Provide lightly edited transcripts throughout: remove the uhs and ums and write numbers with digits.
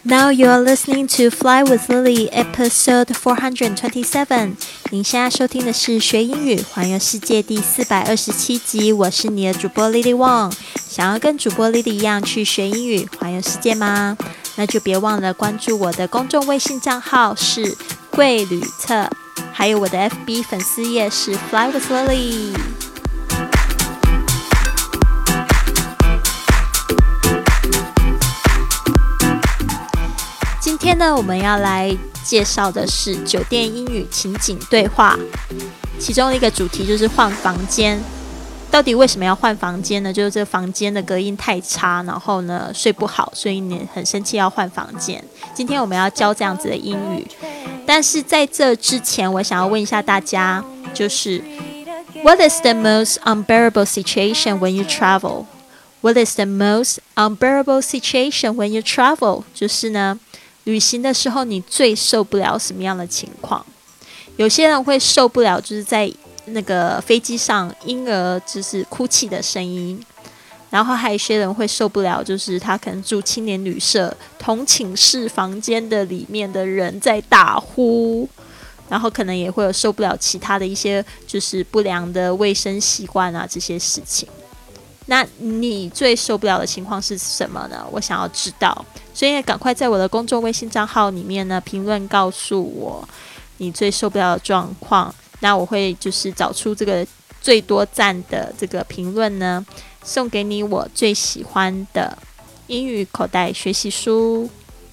Now you are listening to Fly with Lily, episode 427. 您现在收听的是学英语环游世界第427集，我是你的主播 Lily Wong。想要跟主播 Lily 一样去学英语环游世界吗？那就别忘了关注我的公众微信账号是贵旅特，还有我的 FB 粉丝页是 Fly with Lily。今天呢，我们要来介绍的是酒店英语情景对话，其中一个主题就是换房间。到底为什么要换房间呢？就是这个房间的隔音太差，然后呢睡不好，所以你很生气要换房间。今天我们要教这样子的英语，但是在这之前，我想要问一下大家，就是 What is the most unbearable situation when you travel? What is the most unbearable situation when you travel? 就是呢，旅行的时候你最受不了什么样的情况？有些人会受不了，就是在那个飞机上婴儿就是哭泣的声音，然后还有一些人会受不了，就是他可能住青年旅社同寝室房间的里面的人在大呼，然后可能也会有受不了其他的一些就是不良的卫生习惯啊这些事情。那你最受不了的情况是什么呢？我想要知道，所以赶快在我的公众微信账号里面呢评论告诉我你最受不了的状况。那我会就是找出这个最多赞的这个评论呢，送给你我最喜欢的英语口袋学习书。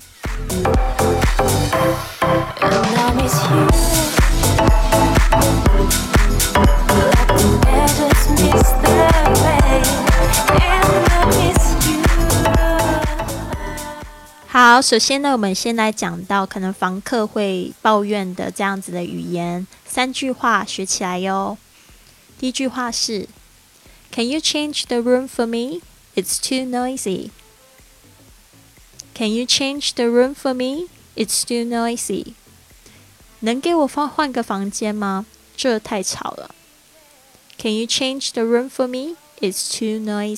好，首先呢，我们先来讲到可能房客会抱怨的这样子的语言，3句话学起来哟。第一句话是 Can you change the room for me? It's too noisy. Can you change the room for me? It's too noisy. 能给我换个房间吗？这太吵了。Can you change the room for me? It's too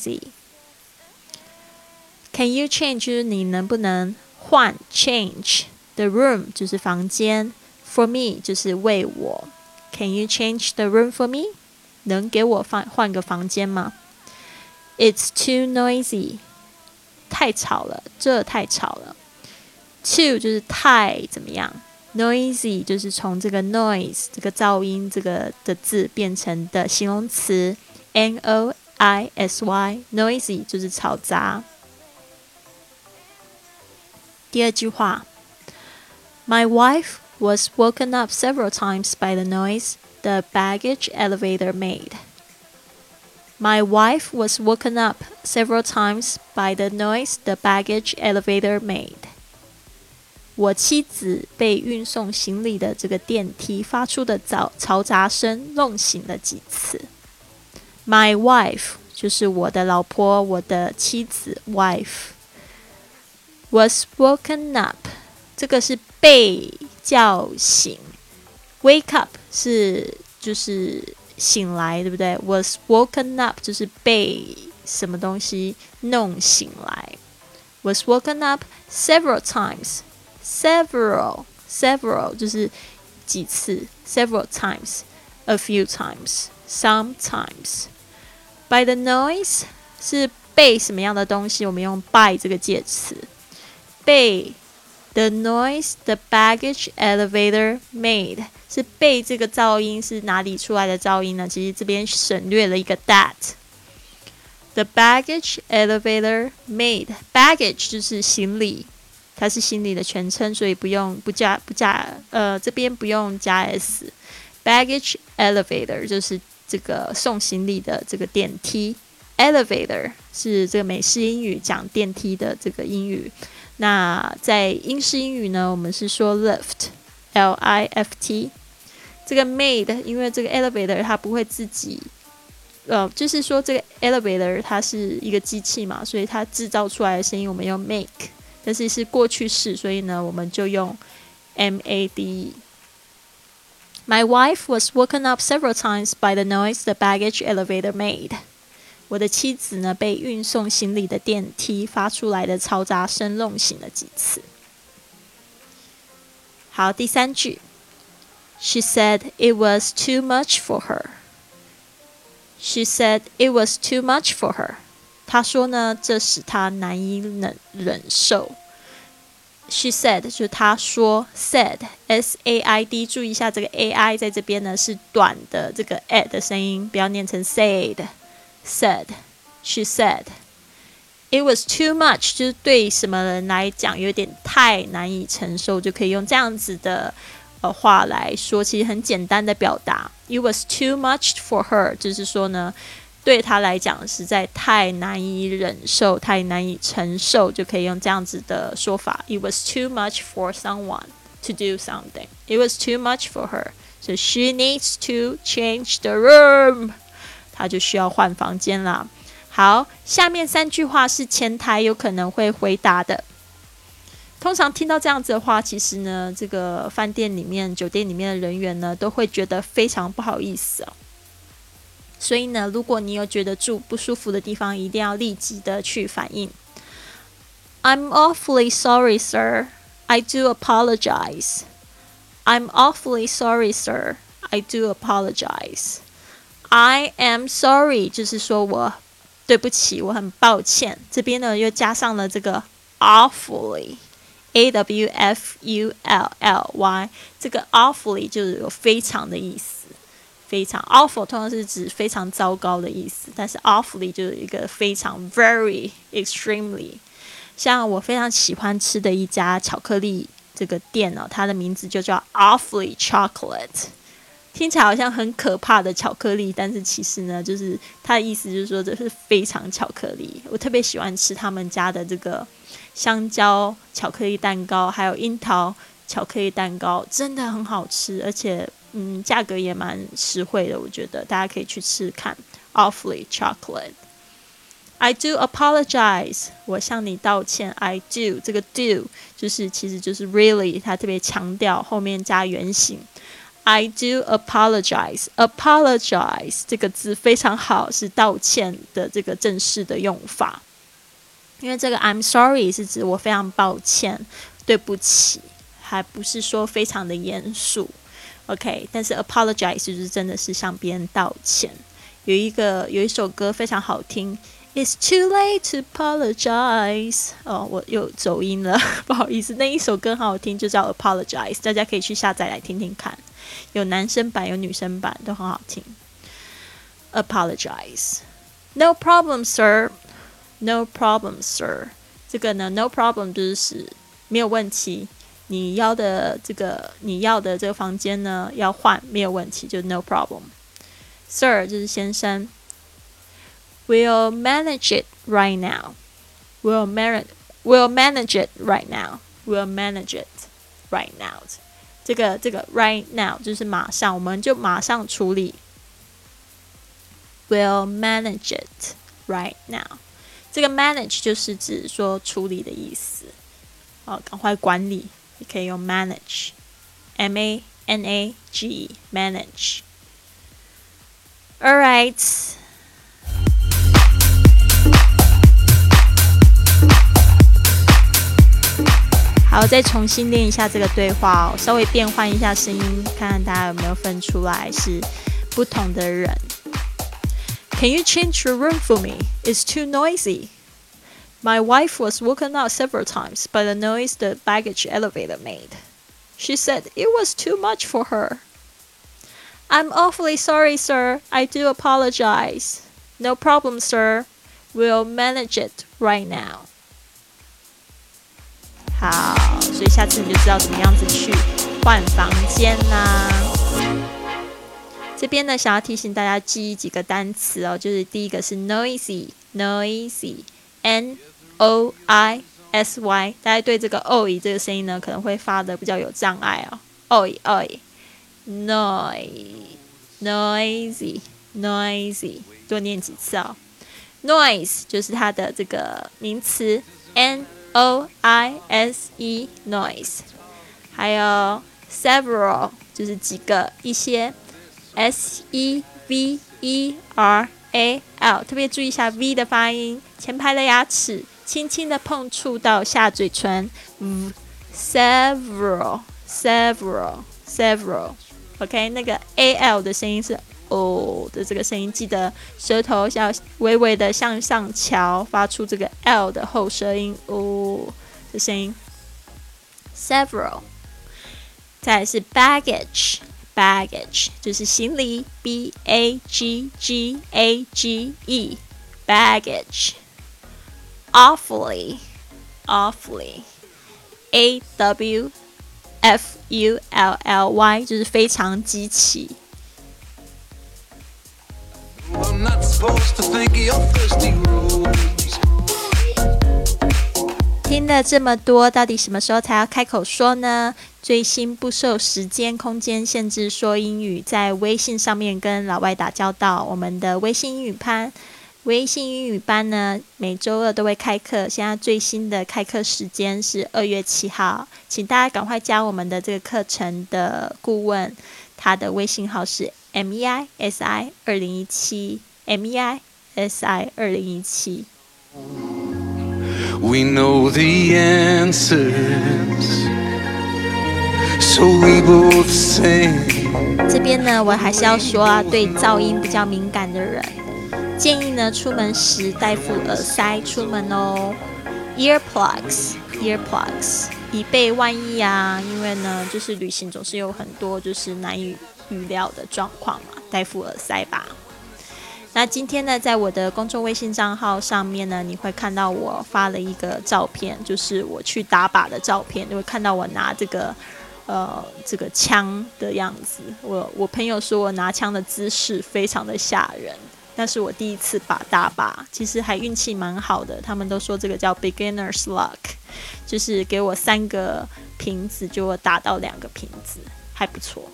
noisy.Can you change 就是你能不能换 change the room 就是房间 for me 就是为我 Can you change the room for me 能给我换个房间吗 It's too noisy 太吵了这太吵了 too 就是太怎么样 noisy 就是从这个 noise 这个噪音这个的字变成的形容词 N-O-I-S-Y noisy 就是吵杂第二句话 My wife was woken up several times by the noise the baggage elevator made. My wife was woken up several times by the noise the baggage elevator made. 我妻子被运送行李的这个电梯发出的嘈杂声弄醒了几次。My wife 就是我的老婆，我的妻子 wife.Was woken up 这个是被叫醒 Wake up 是就是醒来对不对 Was woken up 就是被什么东西弄醒来 Was woken up several times Several 就是几次 Several times A few times Sometimes By the noise 是被什么样的东西我们用 by 这个介词被 the noise the baggage elevator made 是被这个噪音是哪里出来的噪音呢？其实这边省略了一个 that the baggage elevator made baggage 就是行李它是行李的全称所以不加这边不用加 s baggage elevator 就是这个送行李的这个电梯 elevator 是这个美式英语讲电梯的这个英语那在英式英语呢我们是说 lift L-I-F-T 这个 made 因为这个 elevator 它不会自己就是说这个 elevator 它是一个机器嘛所以它制造出来的声音我们用 make 但是是过去式所以呢我们就用 M-A-D-E My wife was woken up several times by the noise the baggage elevator made我的妻子呢被运送行李的电梯发出来的嘈杂声弄醒了几次。 好，第三句 She said it was too much for her. She said it was too much for her. 她说呢，这使她难以忍受。She said 就是她说 said S-A-I-D 注意一下这个 A-I 在这边呢是短的这个 a 的声音，不要念成 said. She said it was too much 就是对什么人来讲有点太难以承受，就可以用这样子的话来说，其实很简单的表达。It was too much for her 就是说呢，对她来讲实在太难以忍受，太难以承受，就可以用这样子的说法。It was too much for someone to do something. It was too much for her. So she needs to change the room. 她就需要换房间啦。好，下面3句话是前台有可能会回答的。通常听到这样子的话，其实呢，这个饭店里面、酒店里面的人员呢，都会觉得非常不好意思哦。所以呢，如果你有觉得住不舒服的地方，一定要立即的去反应。I'm awfully sorry, sir. I do apologize. I'm awfully sorry, sir. I do apologize. I am sorry 就是说我对不起，我很抱歉。这边呢又加上了这个 awfully A-W-F-U-L-L-Y 这个 awfully 就是有非常的意思，非常 awful 通常是指非常糟糕的意思，但是 awfully 就是一个非常 very extremely。像我非常喜欢吃的一家巧克力这个店哦，它的名字就叫 Awfully Chocolate。听起来好像很可怕的巧克力，但是其实呢，就是它的意思就是说这是非常巧克力。我特别喜欢吃他们家的这个香蕉巧克力蛋糕，还有樱桃巧克力蛋糕，真的很好吃，而且价格也蛮实惠的，我觉得大家可以去吃看。Awfully Chocolate。I do apologize， 我向你道歉。I do 这个 do 其实就是 really， 它特别强调后面加原形。I do apologize. Apologize 这个字非常好，是道歉的这个正式的用法。因为这个 I'm sorry 是指我非常抱歉，对不起，还不是说非常的严肃。OK， 但是 apologize 就是真的是向别人道歉。有一首歌非常好听。It's too late to apologize. 我又走音了，不好意思。那一首歌很好听，就叫 Apologize， 大家可以去下载来听听看。有男生版，有女生版，都很好听。Apologize. No problem, sir. No problem, sir. 这个呢 ，no problem 就是没有问题。你要的这个房间呢要换，没有问题，就 no problem. Sir 就是先生。We'll manage it right now. We'll manage it right now. We'll manage it right now. 这个 right now 就是马上，我们就马上处理。We'll manage it right now. 这个 manage 就是指说处理的意思。赶快管理，也可以用 manage. M-A-N-A-G-E. Manage. All right.好，再重新练一下这个对话哦，稍微变换一下声音，看看大家有没有分出来是不同的人。Can you change your room for me? It's too noisy. My wife was woken up several times by the noise the baggage elevator made. She said it was too much for her. I'm awfully sorry, sir. I do apologize. No problem, sir. We'll manage it right now.好，所以下次你就知道怎么样子去换房间啦。这边呢，想要提醒大家记忆几个单词哦，就是第一个是 noisy，N-O-I-S-Y， 大家对这个 oi 这个声音呢，可能会发的比较有障碍哦。oi，noisy，多念几次哦。noise 就是它的这个名词 N-O-I-S-E noise， 还有 several 就是几个一些 S-E-V-E-R-A-L， 特别注意一下 V 的发音，前排的牙齿轻轻的碰触到下嘴唇。several several，OK， 那个 al 的声音是哦的这个声音，记得舌头要微微的向上翘，发出这个 l 的后舌音哦的声音。several， 再来是 baggage 就是行李 bagage baggage。awfully awfully 就是非常极其。听了这么多，到底什么时候才要开口说呢？最新不受时间空间限制说英语，在微信上面跟老外打交道。我们的微信英语班呢，每周二都会开课。现在最新的开课时间是2月7号，请大家赶快加我们的这个课程的顾问，他的微信号是 MEISI 2017 MEISI 2017。We know the answers, so we both say. 这边呢，我还是要说啊，对噪音比较敏感的人，建议呢出门时带副耳塞出门哦 ，earplugs， 以备万一啊。因为呢，就是旅行总是有很多就是难以预料的状况嘛，带副耳塞吧。那今天呢，在我的公众微信账号上面呢，你会看到我发了一个照片，就是我去打靶的照片，你会看到我拿这个枪的样子。我朋友说我拿枪的姿势非常的吓人，那是我第一次打靶，其实还运气蛮好的。他们都说这个叫 beginner's luck， 就是给我3个瓶子，就我打到2个瓶子，还不错。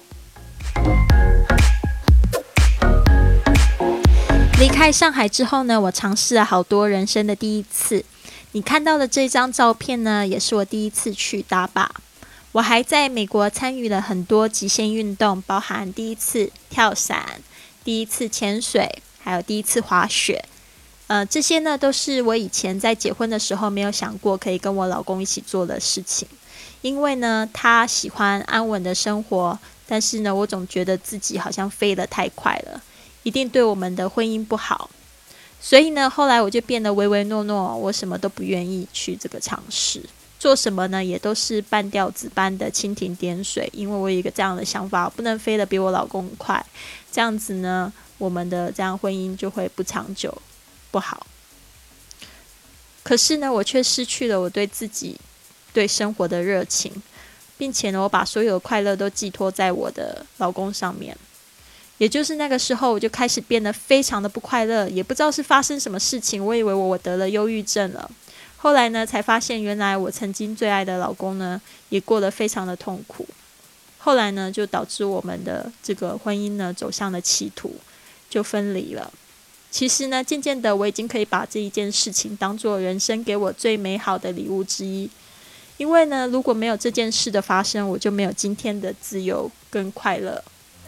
离开上海之后呢，我尝试了好多人生的第一次。你看到的这张照片呢，也是我第一次去打靶。我还在美国参与了很多极限运动，包含第一次跳伞、第一次潜水，还有第一次滑雪。这些呢都是我以前在结婚的时候没有想过可以跟我老公一起做的事情。因为呢，他喜欢安稳的生活，但是呢，我总觉得自己好像飞得太快了，一定对我们的婚姻不好。所以呢，后来我就变得唯唯诺诺，我什么都不愿意去这个尝试，做什么呢也都是半吊子般的蜻蜓点水。因为我有一个这样的想法，我不能飞得比我老公快，这样子呢，我们的这样婚姻就会不长久，不好。可是呢，我却失去了我对自己、对生活的热情，并且呢，我把所有的快乐都寄托在我的老公上面。也就是那个时候，我就开始变得非常的不快乐，也不知道是发生什么事情，我以为我得了忧郁症了。后来呢，才发现原来我曾经最爱的老公呢，也过得非常的痛苦。后来呢，就导致我们的这个婚姻呢，走向了歧途，就分离了。其实呢，渐渐的我已经可以把这一件事情当作人生给我最美好的礼物之一。因为呢，如果没有这件事的发生，我就没有今天的自由跟快乐。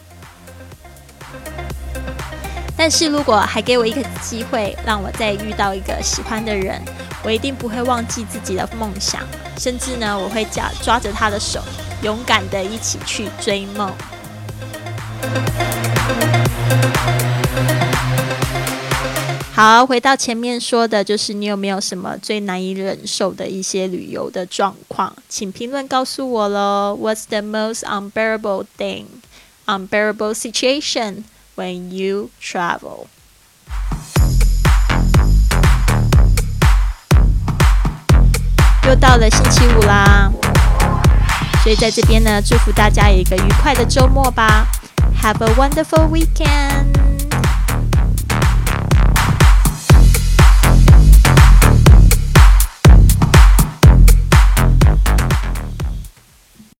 但是如果还给我一个机会，让我再遇到一个喜欢的人，我一定不会忘记自己的梦想，甚至呢，我会抓着他的手，勇敢的一起去追梦。好，回到前面说的，就是你有没有什么最难以忍受的一些旅游的状况？请评论告诉我咯。 What's the most unbearable thing, unbearable situation when you travel? 又到了星期5啦，所以在这边呢，祝福大家有一个愉快的周末吧。Have a wonderful weekend!